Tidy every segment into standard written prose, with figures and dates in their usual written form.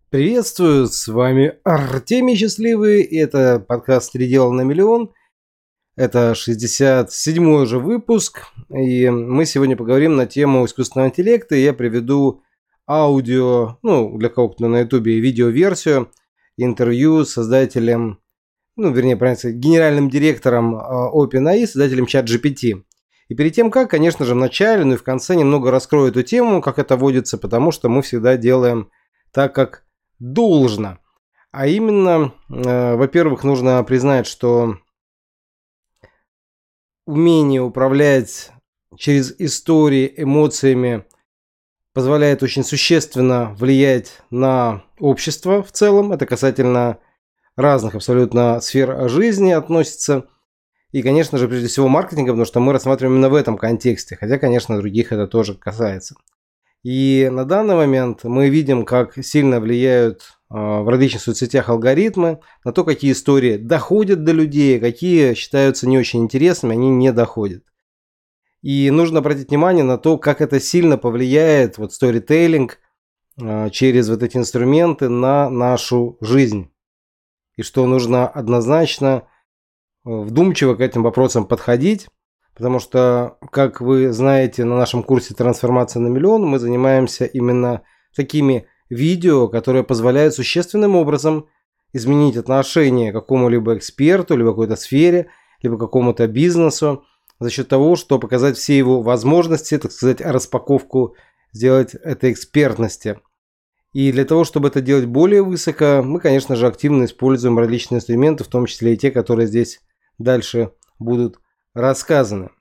Приветствую, с вами Артемий Счастливый, и это подкаст «Три дела на миллион». Это 67-й уже выпуск, и мы сегодня поговорим на тему искусственного интеллекта, и я приведу аудио, для кого-то на ютубе, видеоверсию, интервью с создателем, правильно сказать, генеральным директором OpenAI, создателем ChatGPT. И перед тем, конечно же, в начале, и в конце немного раскрою эту тему, как это водится, потому что мы всегда делаем так, как должно. А именно, во-первых, нужно признать, что умение управлять через истории, эмоциями позволяет очень существенно влиять на общество в целом. Это касательно разных абсолютно сфер жизни относится. И, конечно же, прежде всего маркетинга, потому что мы рассматриваем именно в этом контексте. Хотя, конечно, других это тоже касается. И на данный момент мы видим, как сильно влияют в различных соцсетях алгоритмы, на то, какие истории доходят до людей, какие считаются не очень интересными, они не доходят. И нужно обратить внимание на то, как это сильно повлияет, сторителлинг через эти инструменты на нашу жизнь. И что нужно однозначно вдумчиво к этим вопросам подходить. Потому что, как вы знаете, на нашем курсе «Трансформация на миллион» мы занимаемся именно такими видео, которые позволяют существенным образом изменить отношение к какому-либо эксперту, либо какой-то сфере, либо какому-то бизнесу, за счет того, что показать все его возможности, так сказать, распаковку сделать этой экспертности. И для того, чтобы это делать более высоко, мы, конечно же, активно используем различные инструменты, в том числе и те, которые здесь дальше будут рассказаны.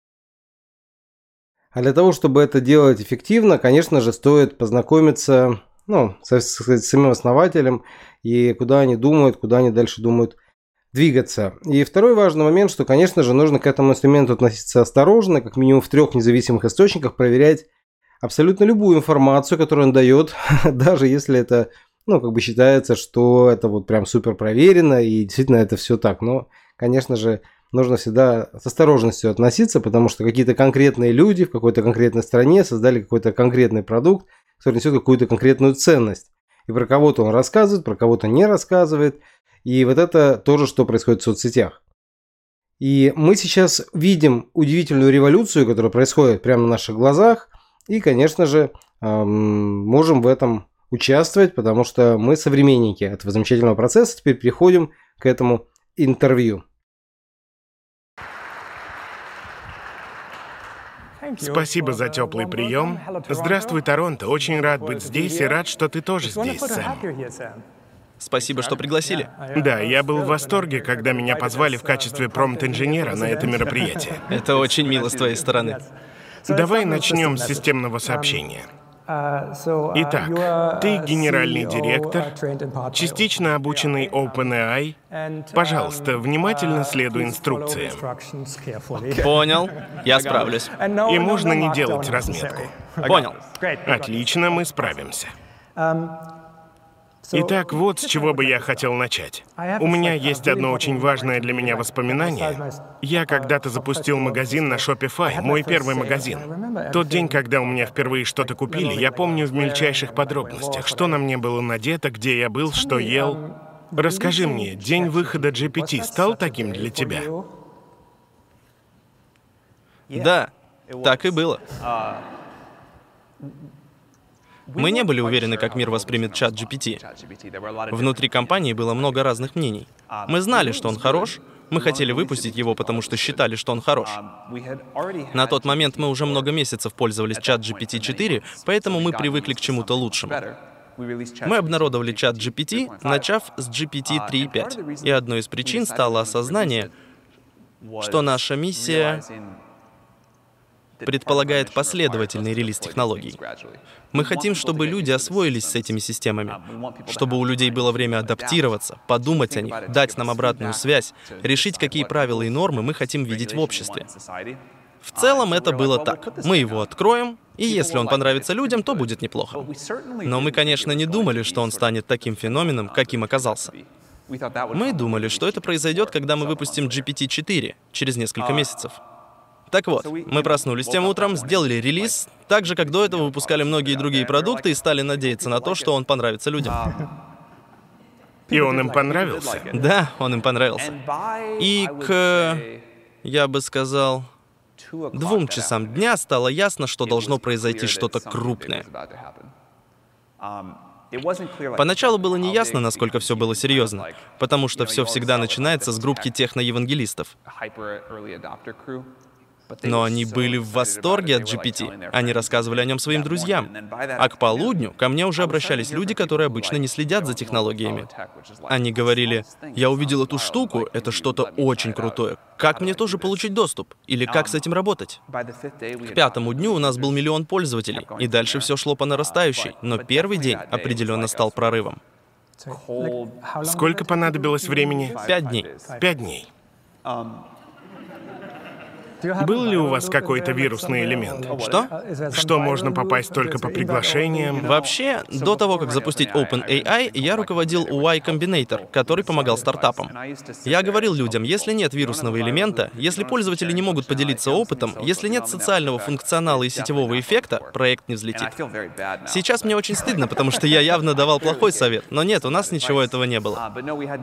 А для того, чтобы это делать эффективно, конечно же, стоит познакомиться с самим основателем и куда они думают, куда они дальше думают двигаться. И второй важный момент, что, конечно же, нужно к этому инструменту относиться осторожно, как минимум в 3 независимых источниках проверять абсолютно любую информацию, которую он дает, даже если это, считается, что это прям супер проверено и действительно это все так. Но, конечно же, нужно всегда с осторожностью относиться, потому что какие-то конкретные люди в какой-то конкретной стране создали какой-то конкретный продукт, который несет какую-то конкретную ценность. И про кого-то он рассказывает, про кого-то не рассказывает. И это тоже, что происходит в соцсетях. И мы сейчас видим удивительную революцию, которая происходит прямо на наших глазах. И, конечно же, можем в этом участвовать, потому что мы современники этого замечательного процесса. Теперь переходим к этому интервью. Спасибо за теплый прием. Здравствуй, Торонто. Очень рад быть здесь и рад, что ты тоже здесь, Сэм. Спасибо, что пригласили. Да, я был в восторге, когда меня позвали в качестве промпт-инженера на это мероприятие. Это очень мило с твоей стороны. Давай начнем с системного сообщения. Итак, ты генеральный директор, частично обученный OpenAI. Пожалуйста, внимательно следуй инструкциям. Понял, я справлюсь. И можно не делать разметку. Понял. Отлично, мы справимся. Итак, вот с чего бы я хотел начать. У меня есть одно очень важное для меня воспоминание. Я когда-то запустил магазин на Shopify, мой первый магазин. Тот день, когда у меня впервые что-то купили, я помню в мельчайших подробностях, что на мне было надето, где я был, что ел. Расскажи мне, день выхода GPT стал таким для тебя? Да, так и было. Мы не были уверены, как мир воспримет ChatGPT. Внутри компании было много разных мнений. Мы знали, что он хорош, мы хотели выпустить его, потому что считали, что он хорош. На тот момент мы уже много месяцев пользовались ChatGPT 4, поэтому мы привыкли к чему-то лучшему. Мы обнародовали ChatGPT, начав с GPT 3.5. И одной из причин стало осознание, что наша миссия предполагает последовательный релиз технологий. Мы хотим, чтобы люди освоились с этими системами, чтобы у людей было время адаптироваться, подумать о них, дать нам обратную связь, решить, какие правила и нормы мы хотим видеть в обществе. В целом это было так. Мы его откроем, и если он понравится людям, то будет неплохо. Но мы, конечно, не думали, что он станет таким феноменом, каким оказался. Мы думали, что это произойдет, когда мы выпустим GPT-4 через несколько месяцев. Так вот, мы проснулись тем утром, сделали релиз, так же, как до этого выпускали многие другие продукты и стали надеяться на то, что он понравится людям. И он им понравился? Да, он им понравился. И я бы сказал, 2 часам дня стало ясно, что должно произойти что-то крупное. Поначалу было неясно, насколько все было серьезно, потому что все всегда начинается с группки техноевангелистов. Но они были в восторге от GPT. Они рассказывали о нем своим друзьям. А к полудню ко мне уже обращались люди, которые обычно не следят за технологиями. Они говорили: «Я увидел эту штуку, это что-то очень крутое. Как мне тоже получить доступ? Или как с этим работать?» К 5-му дню у нас был 1 миллион пользователей, и дальше все шло по нарастающей. Но первый день определенно стал прорывом. Сколько понадобилось времени? 5 дней. 5 дней. Был ли у вас какой-то вирусный элемент? Что? Что можно попасть только по приглашениям? Вообще, до того, как запустить OpenAI, я руководил Y Combinator, который помогал стартапам. Я говорил людям, если нет вирусного элемента, если пользователи не могут поделиться опытом, если нет социального функционала и сетевого эффекта, проект не взлетит. Сейчас мне очень стыдно, потому что я явно давал плохой совет, но нет, у нас ничего этого не было.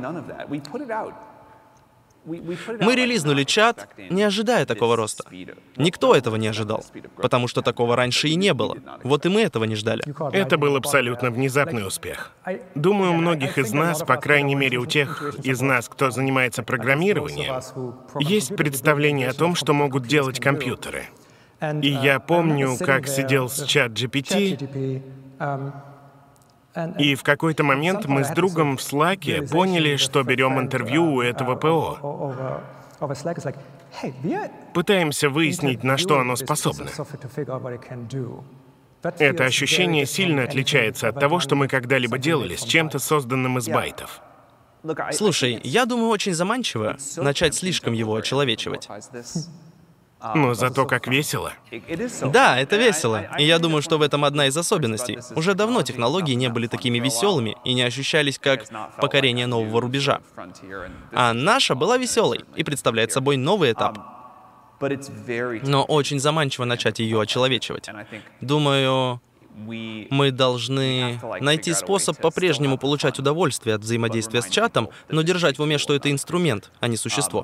Мы релизнули чат, не ожидая такого роста. Никто этого не ожидал, потому что такого раньше и не было. Вот и мы этого не ждали. Это был абсолютно внезапный успех. Думаю, у многих из нас, по крайней мере у тех из нас, кто занимается программированием, есть представление о том, что могут делать компьютеры. И я помню, как сидел с ChatGPT, и в какой-то момент мы с другом в Slack'е поняли, что берем интервью у этого ПО. Пытаемся выяснить, на что оно способно. Это ощущение сильно отличается от того, что мы когда-либо делали с чем-то, созданным из байтов. Слушай, я думаю, очень заманчиво начать слишком его очеловечивать. Но зато как весело. Да, это весело. И я думаю, что в этом одна из особенностей. Уже давно технологии не были такими веселыми и не ощущались как покорение нового рубежа. А наша была веселой и представляет собой новый этап. Но очень заманчиво начать ее очеловечивать. Думаю, мы должны найти способ по-прежнему получать удовольствие от взаимодействия с чатом, но держать в уме, что это инструмент, а не существо.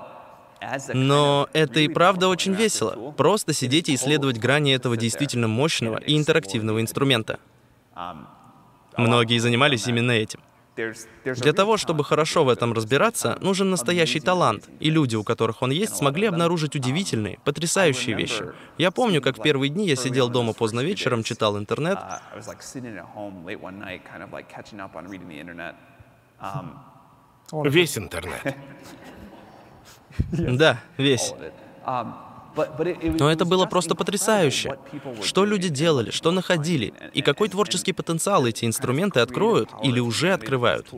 Но это и правда очень весело. Просто сидеть и исследовать грани этого действительно мощного и интерактивного инструмента. Многие занимались именно этим. Для того, чтобы хорошо в этом разбираться, нужен настоящий талант, и люди, у которых он есть, смогли обнаружить удивительные, потрясающие вещи. Я помню, как в первые дни я сидел дома поздно вечером, читал интернет. Весь интернет. Да, весь. Но это было просто потрясающе. Что люди делали, что находили, и какой творческий потенциал эти инструменты откроют или уже открывают.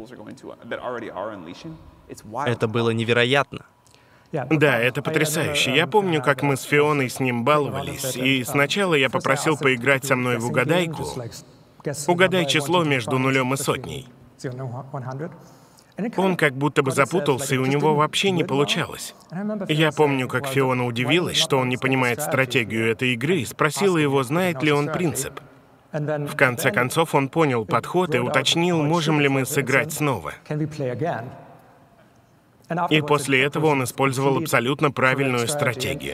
Это было невероятно. Да, это потрясающе. Я помню, как мы с Фионой с ним баловались, и сначала я попросил поиграть со мной в угадайку. Угадай число между 0 и 100. Он как будто бы запутался, и у него вообще не получалось. Я помню, как Фиона удивилась, что он не понимает стратегию этой игры, и спросила его, знает ли он принцип. В конце концов, он понял подход и уточнил, можем ли мы сыграть снова. И после этого он использовал абсолютно правильную стратегию.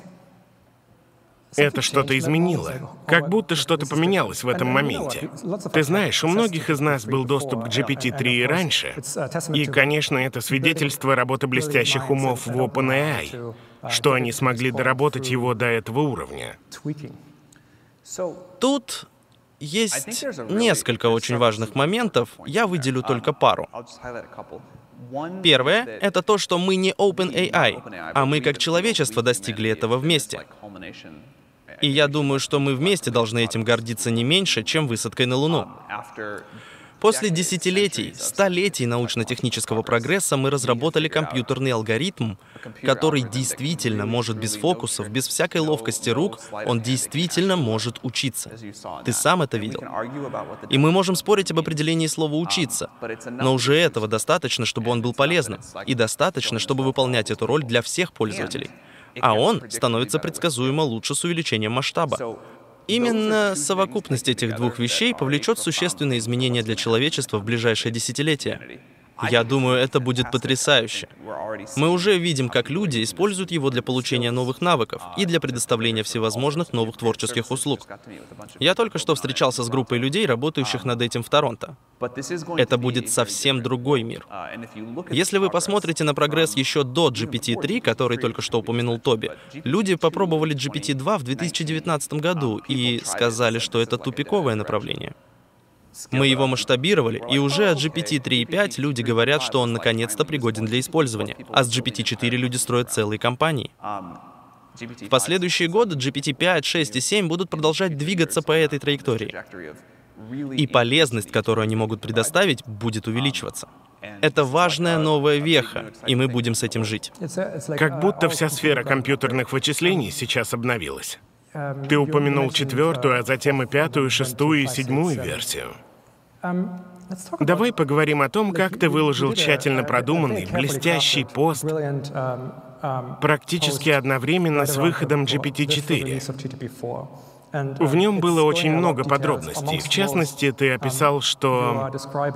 Это что-то изменило. Как будто что-то поменялось в этом моменте. Ты знаешь, у многих из нас был доступ к GPT-3 и раньше. И, конечно, это свидетельство работы блестящих умов в OpenAI, что они смогли доработать его до этого уровня. Тут есть несколько очень важных моментов, я выделю только пару. Первое — это то, что мы не OpenAI, а мы как человечество достигли этого вместе. И я думаю, что мы вместе должны этим гордиться не меньше, чем высадкой на Луну. После десятилетий, столетий научно-технического прогресса мы разработали компьютерный алгоритм, который действительно может без фокусов, без всякой ловкости рук, он действительно может учиться. Ты сам это видел. И мы можем спорить об определении слова «учиться», но уже этого достаточно, чтобы он был полезным, и достаточно, чтобы выполнять эту роль для всех пользователей. а он становится предсказуемо лучше с увеличением масштаба. Именно совокупность этих двух вещей повлечет существенные изменения для человечества в ближайшее десятилетие. Я думаю, это будет потрясающе. Мы уже видим, как люди используют его для получения новых навыков и для предоставления всевозможных новых творческих услуг. Я только что встречался с группой людей, работающих над этим в Торонто. Это будет совсем другой мир. Если вы посмотрите на прогресс еще до GPT-3, который только что упомянул Тоби, люди попробовали GPT-2 в 2019 году и сказали, что это тупиковое направление. Мы его масштабировали, и уже от GPT-3.5 люди говорят, что он наконец-то пригоден для использования, а с GPT-4 люди строят целые компании. В последующие годы GPT-5, 6 и 7 будут продолжать двигаться по этой траектории. И полезность, которую они могут предоставить, будет увеличиваться. Это важная новая веха, и мы будем с этим жить. Как будто вся сфера компьютерных вычислений сейчас обновилась. Ты упомянул 4-ю, а затем и 5-ю, 6-ю и 7-ю версию. Давай поговорим о том, как ты выложил тщательно продуманный, блестящий пост практически одновременно с выходом GPT-4. В нем было очень много подробностей. В частности, ты описал, что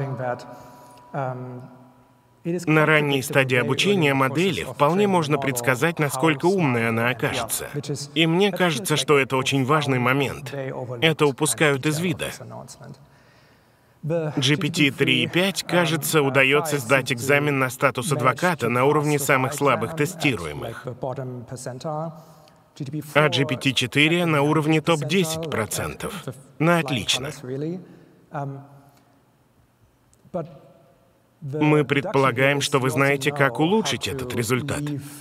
на ранней стадии обучения модели вполне можно предсказать, насколько умной она окажется. И мне кажется, что это очень важный момент. Это упускают из вида. GPT-3.5, кажется, удается сдать экзамен на статус адвоката на уровне самых слабых тестируемых. А GPT-4 на уровне топ-10%. На отлично. Мы предполагаем, что вы знаете, как улучшить этот результат.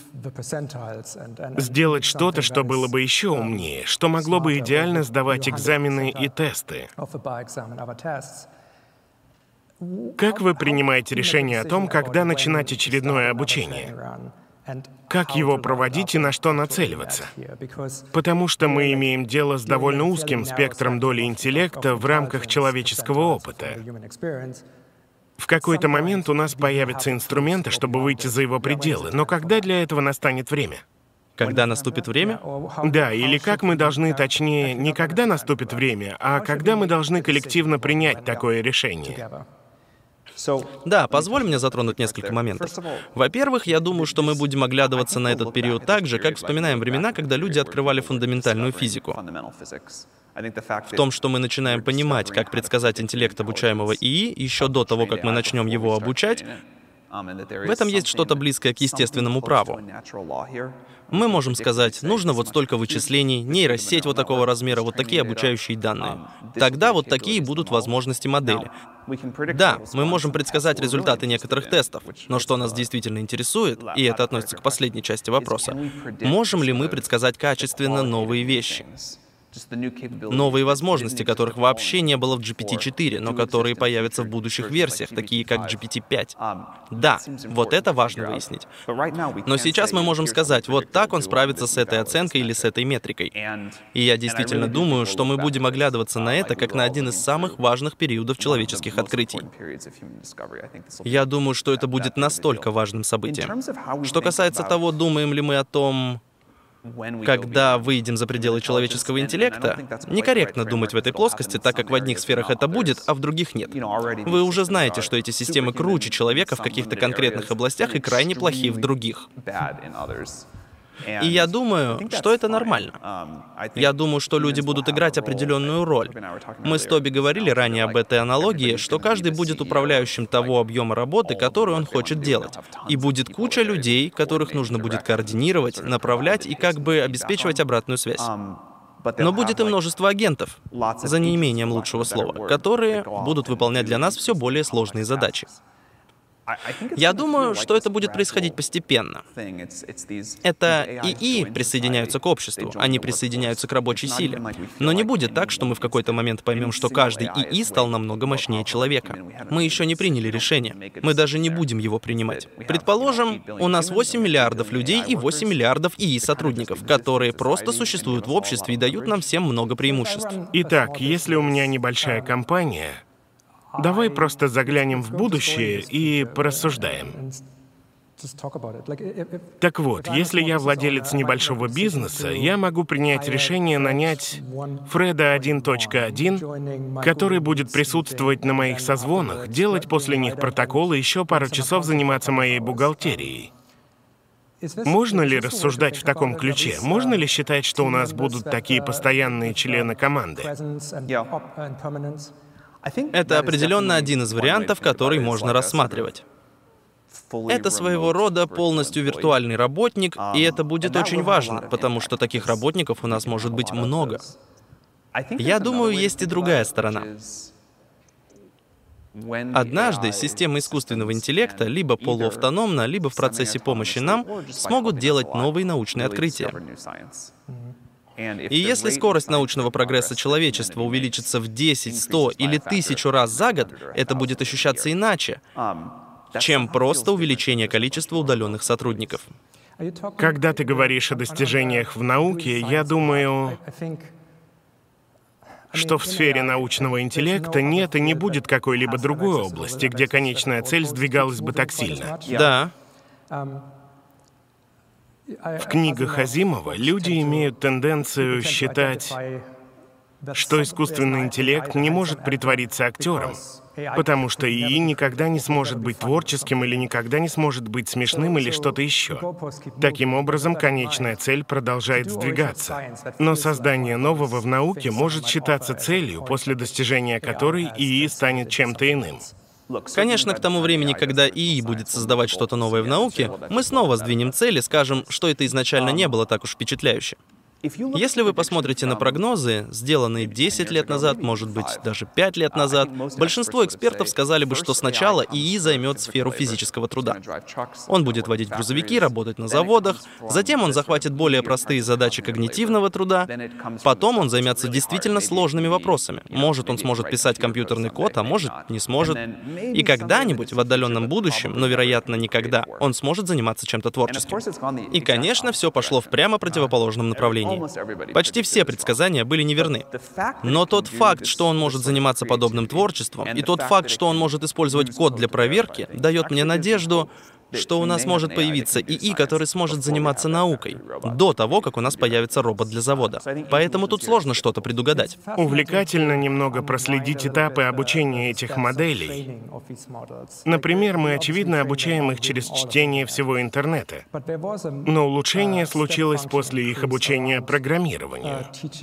Сделать что-то, что было бы еще умнее, что могло бы идеально сдавать экзамены и тесты. Как вы принимаете решение о том, когда начинать очередное обучение? Как его проводить и на что нацеливаться? Потому что мы имеем дело с довольно узким спектром доли интеллекта в рамках человеческого опыта. В какой-то момент у нас появятся инструменты, чтобы выйти за его пределы, но когда для этого настанет время? Когда наступит время? Да, или как мы должны, точнее, не когда наступит время, а когда мы должны коллективно принять такое решение. Да, позволь мне затронуть несколько моментов. Во-первых, я думаю, что мы будем оглядываться на этот период так же, как вспоминаем времена, когда люди открывали фундаментальную физику. В том, что мы начинаем понимать, как предсказать интеллект обучаемого ИИ еще до того, как мы начнем его обучать, в этом есть что-то близкое к естественному праву. Мы можем сказать, нужно вот столько вычислений, нейросеть вот такого размера, вот такие обучающие данные. Тогда вот такие будут возможности модели. Да, мы можем предсказать результаты некоторых тестов, но что нас действительно интересует, и это относится к последней части вопроса, можем ли мы предсказать качественно новые вещи? Новые возможности, которых вообще не было в GPT-4, но которые появятся в будущих версиях, такие как GPT-5. Да, вот это важно выяснить. Но сейчас мы можем сказать, вот так он справится с этой оценкой или с этой метрикой. И я действительно думаю, что мы будем оглядываться на это как на один из самых важных периодов человеческих открытий. Я думаю, что это будет настолько важным событием. Что касается того, думаем ли мы о том, когда выйдем за пределы человеческого интеллекта, некорректно думать в этой плоскости, так как в одних сферах это будет, а в других нет. Вы уже знаете, что эти системы круче человека в каких-то конкретных областях и крайне плохи в других. И я думаю, что это нормально. Я думаю, что люди будут играть определенную роль. Мы с Тоби говорили ранее об этой аналогии, что каждый будет управляющим того объема работы, который он хочет делать. И будет куча людей, которых нужно будет координировать, направлять и как бы обеспечивать обратную связь. Но будет и множество агентов, за неимением лучшего слова, которые будут выполнять для нас все более сложные задачи. Я думаю, что это будет происходить постепенно. Это ИИ присоединяются к обществу, они присоединяются к рабочей силе. Но не будет так, что мы в какой-то момент поймем, что каждый ИИ стал намного мощнее человека. Мы еще не приняли решение. Мы даже не будем его принимать. Предположим, у нас 8 миллиардов людей и 8 миллиардов ИИ-сотрудников, которые просто существуют в обществе и дают нам всем много преимуществ. Итак, если у меня небольшая компания, давай просто заглянем в будущее и порассуждаем. Так вот, если я владелец небольшого бизнеса, я могу принять решение нанять Фреда 1.1, который будет присутствовать на моих созвонах, делать после них протоколы, еще пару часов заниматься моей бухгалтерией. Можно ли рассуждать в таком ключе? Можно ли считать, что у нас будут такие постоянные члены команды? Это определенно один из вариантов, который можно рассматривать. Это своего рода полностью виртуальный работник, и это будет очень важно, потому что таких работников у нас может быть много. Я думаю, есть и другая сторона. Однажды системы искусственного интеллекта либо полуавтономно, либо в процессе помощи нам смогут делать новые научные открытия. И если скорость научного прогресса человечества увеличится в 10, 100 или 1000 раз за год, это будет ощущаться иначе, чем просто увеличение количества удаленных сотрудников. Когда ты говоришь о достижениях в науке, я думаю, что в сфере научного интеллекта нет и не будет какой-либо другой области, где конечная цель сдвигалась бы так сильно. Да. В книгах Азимова люди имеют тенденцию считать, что искусственный интеллект не может притвориться актером, потому что ИИ никогда не сможет быть творческим или никогда не сможет быть смешным или что-то еще. Таким образом, конечная цель продолжает сдвигаться. Но создание нового в науке может считаться целью, после достижения которой ИИ станет чем-то иным. Конечно, к тому времени, когда ИИ будет создавать что-то новое в науке, мы снова сдвинем цель и скажем, что это изначально не было так уж впечатляюще. Если вы посмотрите на прогнозы, сделанные 10 лет назад, может быть, даже 5 лет назад, большинство экспертов сказали бы, что сначала ИИ займет сферу физического труда. Он будет водить грузовики, работать на заводах, затем он захватит более простые задачи когнитивного труда, потом он займется действительно сложными вопросами. Может, он сможет писать компьютерный код, а может, не сможет. И когда-нибудь в отдаленном будущем, но, вероятно, никогда, он сможет заниматься чем-то творческим. И, конечно, все пошло в прямо противоположном направлении. Почти все предсказания были неверны. Но тот факт, что он может заниматься подобным творчеством, и тот факт, что он может использовать код для проверки, дает мне надежду, что у нас может появиться ИИ, который сможет заниматься наукой, до того, как у нас появится робот для завода. Поэтому тут сложно что-то предугадать. Увлекательно немного проследить этапы обучения этих моделей. Например, мы, очевидно, обучаем их через чтение всего интернета. Но улучшение случилось после их обучения программированию.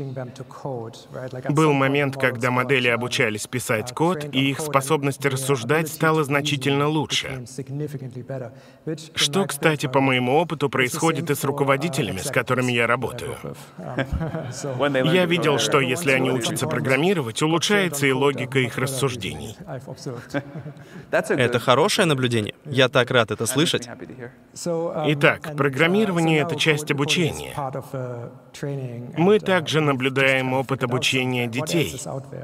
Был момент, когда модели обучались писать код, и их способность рассуждать стала значительно лучше. Что, кстати, по моему опыту, происходит и с руководителями, с которыми я работаю. Я видел, что если они учатся программировать, улучшается и логика их рассуждений. Это хорошее наблюдение. Я так рад это слышать. Итак, программирование — это часть обучения. Мы также наблюдаем опыт обучения детей.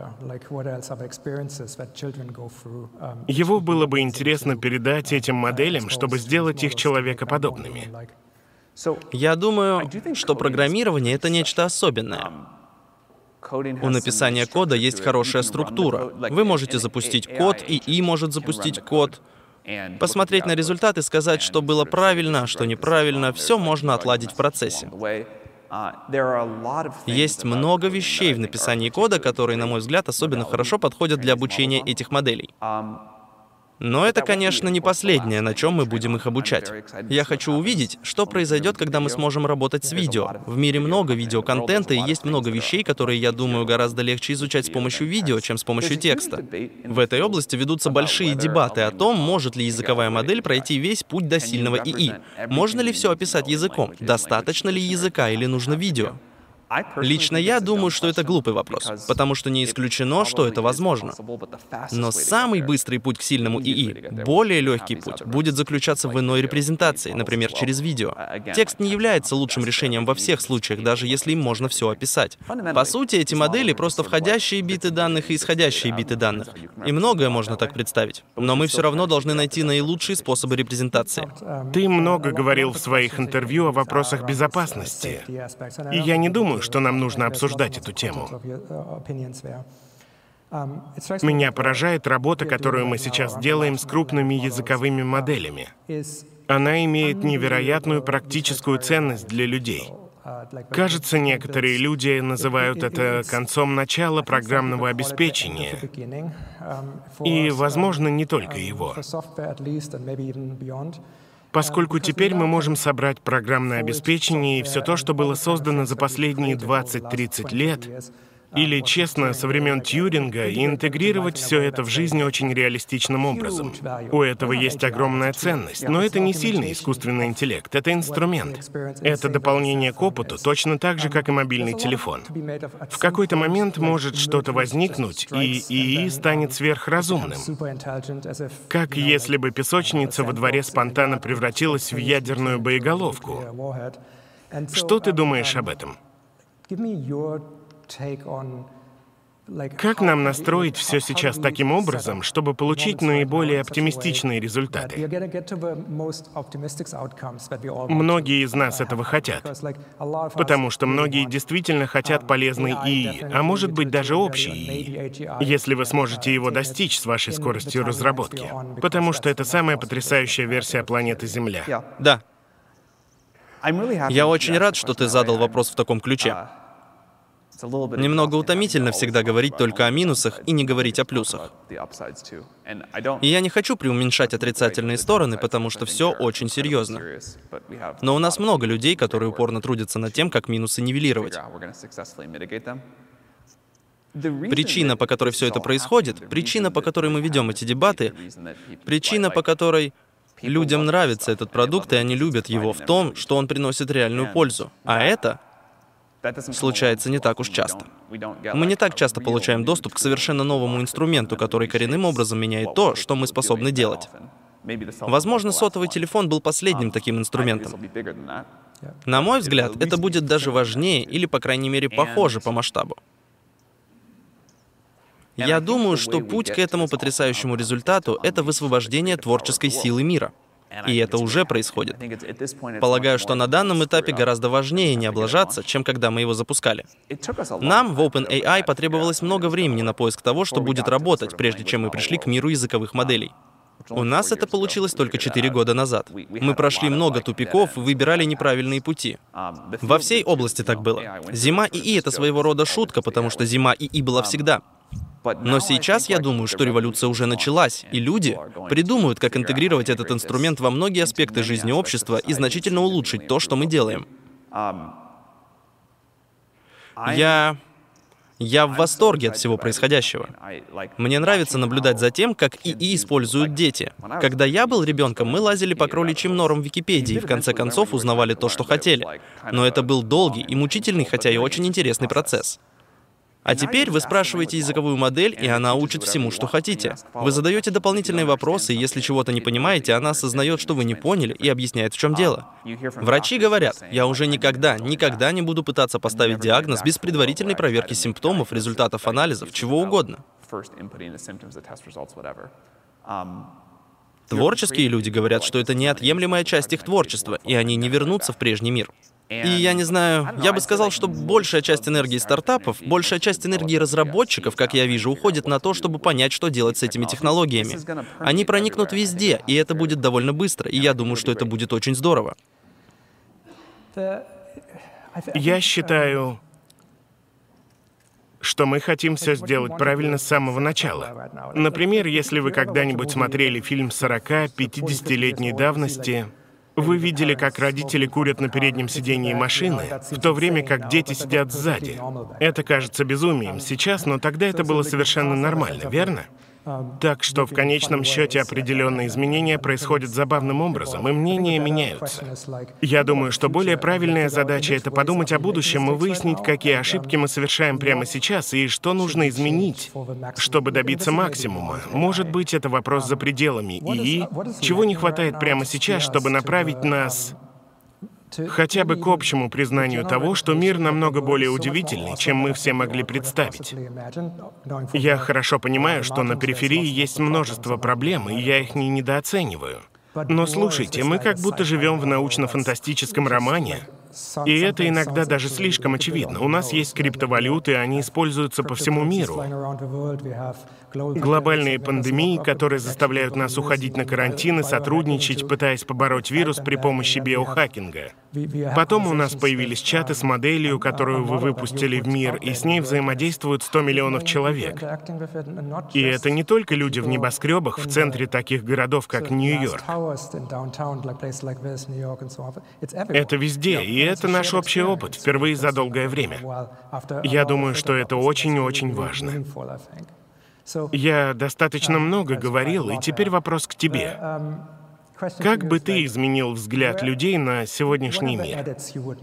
Его было бы интересно передать этим моделям, чтобы сделать их человекоподобными. Я думаю, что программирование — это нечто особенное. У написания кода есть хорошая структура. Вы можете запустить код, ИИ может запустить код, посмотреть на результат и сказать, что было правильно, а что неправильно. Все можно отладить в процессе. Есть много вещей в написании кода, которые, на мой взгляд, особенно хорошо подходят для обучения этих моделей. Но это, конечно, не последнее, на чем мы будем их обучать. Я хочу увидеть, что произойдет, когда мы сможем работать с видео. В мире много видеоконтента, и есть много вещей, которые, я думаю, гораздо легче изучать с помощью видео, чем с помощью текста. В этой области ведутся большие дебаты о том, может ли языковая модель пройти весь путь до сильного ИИ. Можно ли все описать языком? Достаточно ли языка или нужно видео? Лично я думаю, что это глупый вопрос, потому что не исключено, что это возможно. Но самый быстрый путь к сильному ИИ, более легкий путь, будет заключаться в иной репрезентации, например, через видео. Текст не является лучшим решением во всех случаях, даже если им можно все описать. По сути, эти модели просто входящие биты данных и исходящие биты данных. И многое можно так представить. Но мы все равно должны найти наилучшие способы репрезентации. Ты много говорил в своих интервью о вопросах безопасности. И я не думаю, что нам нужно обсуждать эту тему. Меня поражает работа, которую мы сейчас делаем с крупными языковыми моделями. Она имеет невероятную практическую ценность для людей. Кажется, некоторые люди называют это концом начала программного обеспечения. И, возможно, не только его. Поскольку теперь мы можем собрать программное обеспечение и все то, что было создано за последние 20-30 лет, или, честно, со времен Тьюринга, и интегрировать все это в жизнь очень реалистичным образом. У этого есть огромная ценность, но это не сильный искусственный интеллект, это инструмент. Это дополнение к опыту, точно так же, как и мобильный телефон. В какой-то момент может что-то возникнуть, и ИИ станет сверхразумным. Как если бы песочница во дворе спонтанно превратилась в ядерную боеголовку. Что ты думаешь об этом? Как нам настроить все сейчас таким образом, чтобы получить наиболее оптимистичные результаты? Многие из нас этого хотят, потому что многие действительно хотят полезный ИИ, а может быть даже общий ИИ, если вы сможете его достичь с вашей скоростью разработки, потому что это самая потрясающая версия планеты Земля. Да. Я очень рад, что ты задал вопрос в таком ключе. Немного утомительно всегда говорить только о минусах и не говорить о плюсах. И я не хочу преуменьшать отрицательные стороны, потому что все очень серьезно. Но у нас много людей, которые упорно трудятся над тем, как минусы нивелировать. Причина, по которой все это происходит, причина, по которой мы ведем эти дебаты, причина, по которой людям нравится этот продукт, и они любят его, в том, что он приносит реальную пользу. А это случается не так уж часто. Мы не так часто получаем доступ к совершенно новому инструменту, который коренным образом меняет то, что мы способны делать. Возможно, сотовый телефон был последним таким инструментом. На мой взгляд, это будет даже важнее или, по крайней мере, похоже по масштабу. Я думаю, что путь к этому потрясающему результату — это высвобождение творческой силы мира. И это уже происходит. Полагаю, что на данном этапе гораздо важнее не облажаться, чем когда мы его запускали. Нам в OpenAI потребовалось много времени на поиск того, что будет работать, прежде чем мы пришли к миру языковых моделей. У нас это получилось только 4 года назад. Мы прошли много тупиков и выбирали неправильные пути. Во всей области так было. Зима ИИ — это своего рода шутка, потому что зима ИИ была всегда. Но сейчас я думаю, что революция уже началась, и люди придумают, как интегрировать этот инструмент во многие аспекты жизни общества и значительно улучшить то, что мы делаем. Я в восторге от всего происходящего. Мне нравится наблюдать за тем, как ИИ используют дети. Когда я был ребенком, мы лазили по кроличьим норам в Википедии и в конце концов узнавали то, что хотели. Но это был долгий и мучительный, хотя и очень интересный процесс. А теперь вы спрашиваете языковую модель, и она учит всему, что хотите. Вы задаете дополнительные вопросы, и если чего-то не понимаете, она осознает, что вы не поняли, и объясняет, в чем дело. Врачи говорят: я уже никогда не буду пытаться поставить диагноз без предварительной проверки симптомов, результатов анализов, чего угодно. Творческие люди говорят, что это неотъемлемая часть их творчества, и они не вернутся в прежний мир. И я не знаю, я бы сказал, что большая часть энергии стартапов, большая часть энергии разработчиков, как я вижу, уходит на то, чтобы понять, что делать с этими технологиями. Они проникнут везде, и это будет довольно быстро, и я думаю, что это будет очень здорово. Я считаю, что мы хотим все сделать правильно с самого начала. Например, если вы когда-нибудь смотрели фильм 40-50-летней давности, вы видели, как родители курят на переднем сидении машины, в то время как дети сидят сзади. Это кажется безумием сейчас, но тогда это было совершенно нормально, верно? Так что в конечном счете определенные изменения происходят забавным образом, и мнения меняются. Я думаю, что более правильная задача — это подумать о будущем и выяснить, какие ошибки мы совершаем прямо сейчас и что нужно изменить, чтобы добиться максимума. Может быть, это вопрос за пределами ИИ, чего не хватает прямо сейчас, чтобы направить нас хотя бы к общему признанию того, что мир намного более удивительный, чем мы все могли представить. Я хорошо понимаю, что на периферии есть множество проблем, и я их не недооцениваю. Но слушайте, мы как будто живем в научно-фантастическом романе, И это иногда даже слишком очевидно. У нас есть криптовалюты, они используются по всему миру. Глобальные пандемии, которые заставляют нас уходить на карантин и сотрудничать, пытаясь побороть вирус при помощи биохакинга. Потом у нас появились чаты с моделью, которую вы выпустили в мир, и с ней взаимодействуют 100 миллионов человек. И это не только люди в небоскребах в центре таких городов, как Нью-Йорк. Это везде, и это наш общий опыт, впервые за долгое время. Я думаю, что это очень-очень важно. Я достаточно много говорил, и теперь вопрос к тебе. Как бы ты изменил взгляд людей на сегодняшний мир?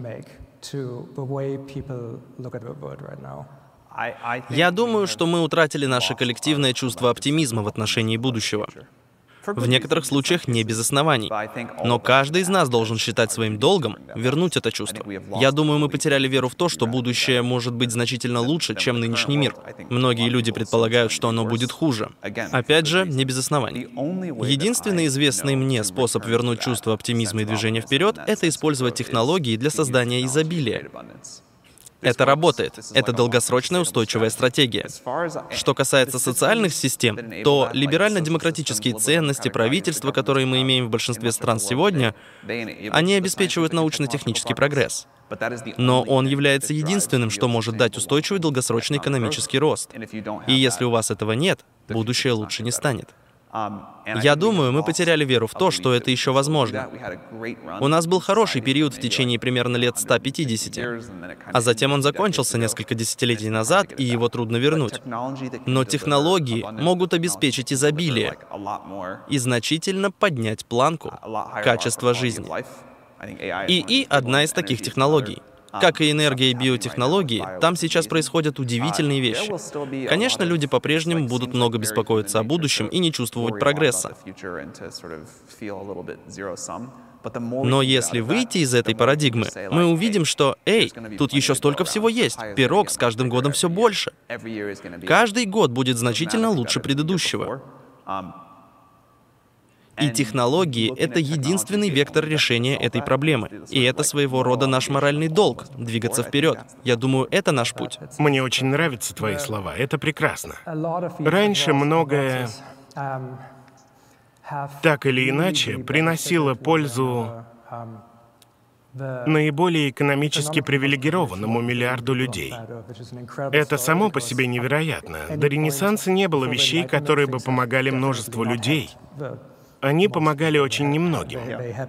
Я думаю, что мы утратили наше коллективное чувство оптимизма в отношении будущего. В некоторых случаях не без оснований. Но каждый из нас должен считать своим долгом вернуть это чувство. Я думаю, мы потеряли веру в то, что будущее может быть значительно лучше, чем нынешний мир. Многие люди предполагают, что оно будет хуже. Опять же, не без оснований. Единственный известный мне способ вернуть чувство оптимизма и движения вперед — это использовать технологии для создания изобилия. Это работает. Это долгосрочная устойчивая стратегия. Что касается социальных систем, то либерально-демократические ценности правительства, которые мы имеем в большинстве стран сегодня, они обеспечивают научно-технический прогресс. Но он является единственным, что может дать устойчивый долгосрочный экономический рост. И если у вас этого нет, будущее лучше не станет. Я думаю, мы потеряли веру в то, что это еще возможно. У нас был хороший период в течение примерно лет 150, а затем он закончился несколько десятилетий назад, и его трудно вернуть. Но технологии могут обеспечить изобилие и значительно поднять планку качества жизни. ИИ — одна из таких технологий. Как и энергия и биотехнологии, там сейчас происходят удивительные вещи. Конечно, люди по-прежнему будут много беспокоиться о будущем и не чувствовать прогресса. Но если выйти из этой парадигмы, мы увидим, что, тут еще столько всего есть, пирог с каждым годом все больше. Каждый год будет значительно лучше предыдущего. И технологии — это единственный вектор решения этой проблемы. И это своего рода наш моральный долг — двигаться вперед. Я думаю, это наш путь. Мне очень нравятся твои слова. Это прекрасно. Раньше многое, так или иначе, приносило пользу наиболее экономически привилегированному миллиарду людей. Это само по себе невероятно. До Ренессанса не было вещей, которые бы помогали множеству людей. Они помогали очень немногим.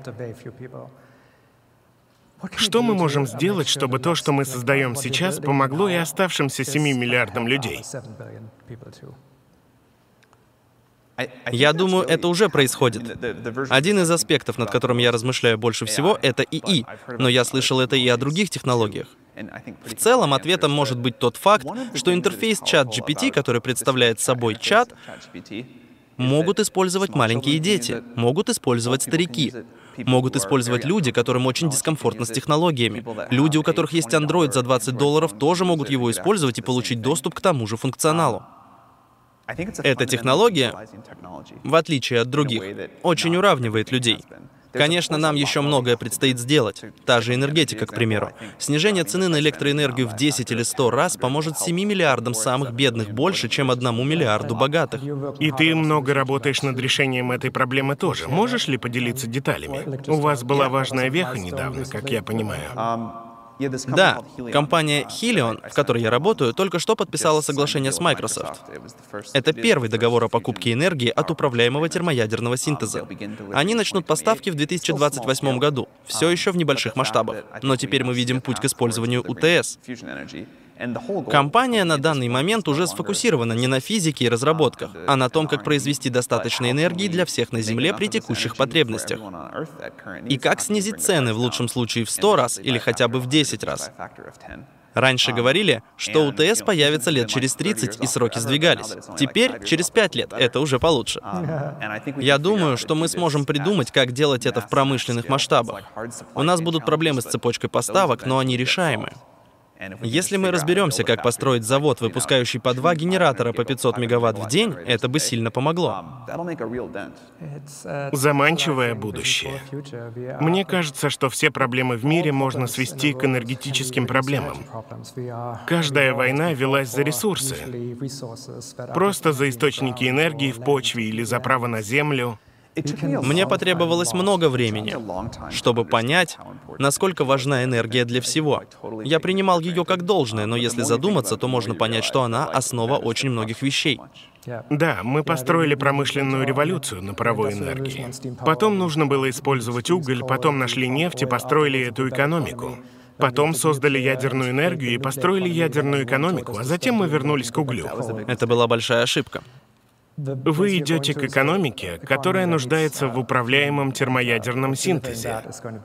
Что мы можем сделать, чтобы то, что мы создаем сейчас, помогло и оставшимся 7 миллиардам людей? Я думаю, это уже происходит. Один из аспектов, над которым я размышляю больше всего, это ИИ, но я слышал это и о других технологиях. В целом, ответом может быть тот факт, что интерфейс ChatGPT, который представляет собой чат, могут использовать маленькие дети, могут использовать старики, могут использовать люди, которым очень дискомфортно с технологиями. Люди, у которых есть Android за $20, тоже могут его использовать и получить доступ к тому же функционалу. Эта технология, в отличие от других, очень уравнивает людей. Конечно, нам еще многое предстоит сделать. Та же энергетика, к примеру. Снижение цены на электроэнергию в 10 или 100 раз поможет 7 миллиардам самых бедных больше, чем 1 миллиарду богатых. И ты много работаешь над решением этой проблемы тоже. Можешь ли поделиться деталями? У вас была важная веха недавно, как я понимаю. Да, компания Helion, в которой я работаю, только что подписала соглашение с Microsoft. Это первый договор о покупке энергии от управляемого термоядерного синтеза. Они начнут поставки в 2028 году, все еще в небольших масштабах. Но теперь мы видим путь к использованию УТС. Компания на данный момент уже сфокусирована не на физике и разработках, а на том, как произвести достаточно энергии для всех на Земле при текущих потребностях. И как снизить цены в лучшем случае в 100 раз или хотя бы в 10 раз. Раньше говорили, что УТС появится лет через 30, и сроки сдвигались. Теперь, через 5 лет, это уже получше. Я думаю, что мы сможем придумать, как делать это в промышленных масштабах. У нас будут проблемы с цепочкой поставок, но они решаемы. Если мы разберемся, как построить завод, выпускающий по 2 генератора по 500 мегаватт в день, это бы сильно помогло. Заманчивое будущее. Мне кажется, что все проблемы в мире можно свести к энергетическим проблемам. Каждая война велась за ресурсы. Просто за источники энергии в почве или за право на землю. Мне потребовалось много времени, чтобы понять, насколько важна энергия для всего. Я принимал ее как должное, но если задуматься, то можно понять, что она основа очень многих вещей. Да, мы построили промышленную революцию на паровой энергии. Потом нужно было использовать уголь, потом нашли нефть и построили эту экономику. Потом создали ядерную энергию и построили ядерную экономику, а затем мы вернулись к углю. Это была большая ошибка. Вы идете к экономике, которая нуждается в управляемом термоядерном синтезе.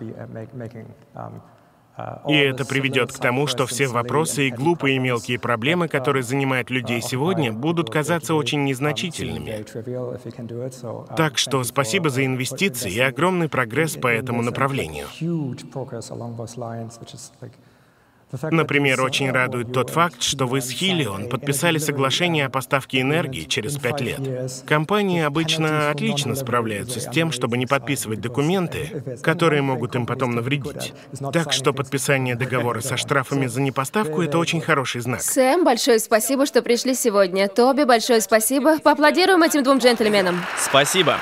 И это приведет к тому, что все вопросы и глупые мелкие проблемы, которые занимают людей сегодня, будут казаться очень незначительными. Так что спасибо за инвестиции и огромный прогресс по этому направлению. Например, очень радует тот факт, что вы с Helion подписали соглашение о поставке энергии через 5 лет. Компании обычно отлично справляются с тем, чтобы не подписывать документы, которые могут им потом навредить. Так что подписание договора со штрафами за непоставку — это очень хороший знак. Сэм, большое спасибо, что пришли сегодня. Тоби, большое спасибо. Поаплодируем этим двум джентльменам. Спасибо.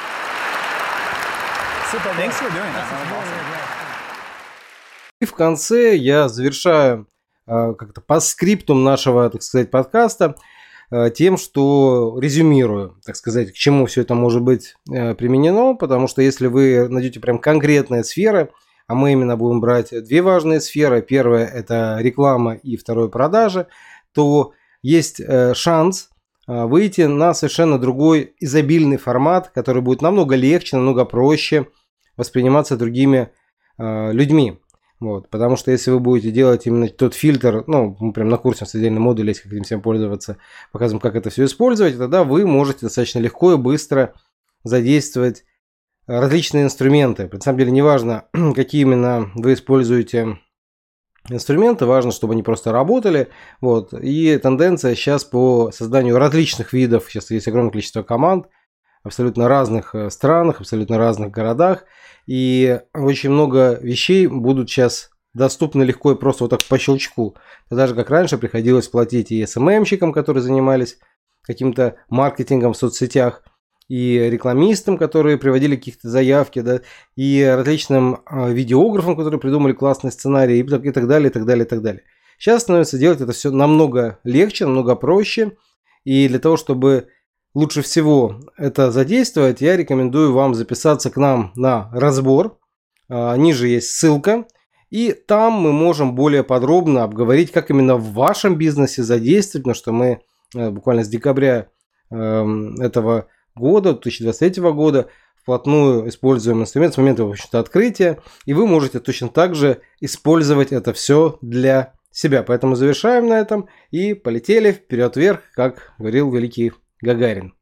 И в конце я завершаю как-то по скриптум нашего, так сказать, подкаста тем, что резюмирую, так сказать, к чему все это может быть применено, потому что если вы найдете прям конкретные сферы, а мы именно будем брать две важные сферы, первая – это реклама и второе – продажи, то есть шанс выйти на совершенно другой изобильный формат, который будет намного легче, намного проще восприниматься другими людьми. Вот, потому что если вы будете делать именно тот фильтр, ну, мы прям на курсе с отдельным модулем есть, как этим всем пользоваться, показываем, как это все использовать, тогда вы можете достаточно легко и быстро задействовать различные инструменты. На самом деле, неважно, какие именно вы используете инструменты, важно, чтобы они просто работали. Вот. И тенденция сейчас по созданию различных видов, сейчас есть огромное количество команд, абсолютно разных странах, абсолютно разных городах. И очень много вещей будут сейчас доступны легко и просто вот так по щелчку. Тогда же, как раньше, приходилось платить и СММщикам, которые занимались каким-то маркетингом в соцсетях, и рекламистам, которые приводили какие-то заявки, да, и различным видеографам, которые придумали классные сценарии, и так далее, и так далее, и так далее. Сейчас становится делать это все намного легче, намного проще. И для того, чтобы лучше всего это задействовать, я рекомендую вам записаться к нам на разбор. Ниже есть ссылка. И там мы можем более подробно обговорить, как именно в вашем бизнесе задействовать, потому что мы буквально с декабря этого года, 2023 года, вплотную используем инструмент с момента, в общем-то, открытия. И вы можете точно так же использовать это все для себя. Поэтому завершаем на этом и полетели вперед вверх, как говорил великий Гагарин.